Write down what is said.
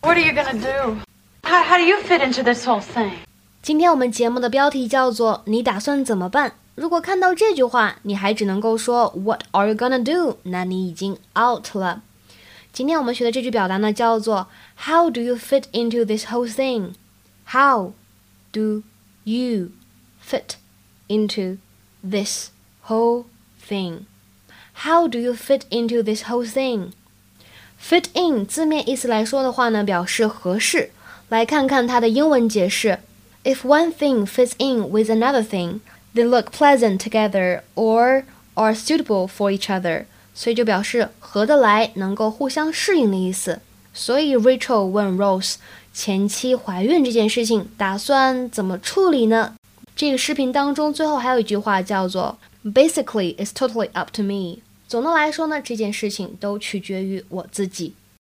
What are you gonna do? How do you fit into this whole thing? 今天我们节目的标题叫做你打算怎么办？如果看到这句话，你还只能够说 What are you gonna do？ 那你已经 out 了。今天我们学的这句表达呢，叫做 How do you fit into this whole thing? How do you fit into this whole thing? How do you fit into this whole thing? Fit in 字面意思来说的话呢，表示合适。来看看它的英文解释。If one thing fits in with another thing, they look pleasant together or are suitable for each other. 所以就表示合得来，能够互相适应的意思。所以 Rachel 问 Rose 前妻怀孕这件事情打算怎么处理呢？这个视频当中最后还有一句话叫做 Basically, it's totally up to me. 总的来说呢，这件事情都取决于我自己。